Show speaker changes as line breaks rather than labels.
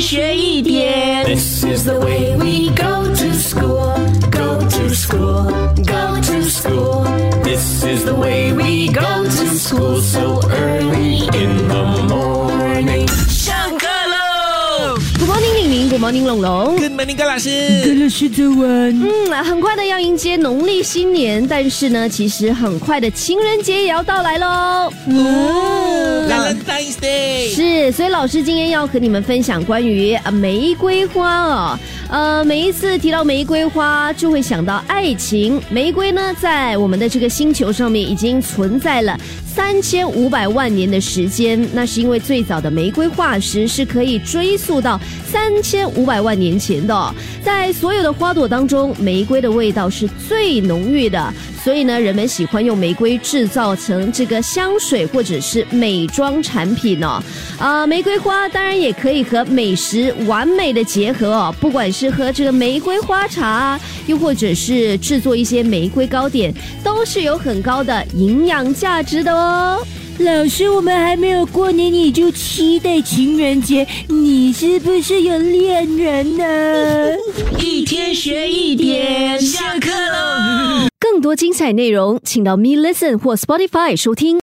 学一点。
This is the way we go to school, go to school, go to school. This is the way we go to school so early in the morning.
上课喽
Good morning， 玲玲 ，Good morning， 龙龙。
，Good morning， 高老师。
老师早安。
很快的要迎接农历新年，但是呢，其实很快的情人节也要到来喽。
Valentine's Day
是，所以老师今天要和你们分享关于玫瑰花哦。每一次提到玫瑰花，就会想到爱情。玫瑰呢，在我们的这个星球上面已经存在了3500万年的时间，那是因为最早的玫瑰化石是可以追溯到3500万年前的哦。在所有的花朵当中，玫瑰的味道是最浓郁的，所以呢，人们喜欢用玫瑰制造成这个香水或者是美妆产品哦。玫瑰花当然也可以和美食完美的结合哦，不管是喝这个玫瑰花茶，又或者是制作一些玫瑰糕点，都是有很高的营养价值的哦。
老师，我们还没有过年你就期待情人节，你是不是有恋人呢？
一天学一点，下课喽。
更多精彩内容，请到Me Listen 或 Spotify 收听。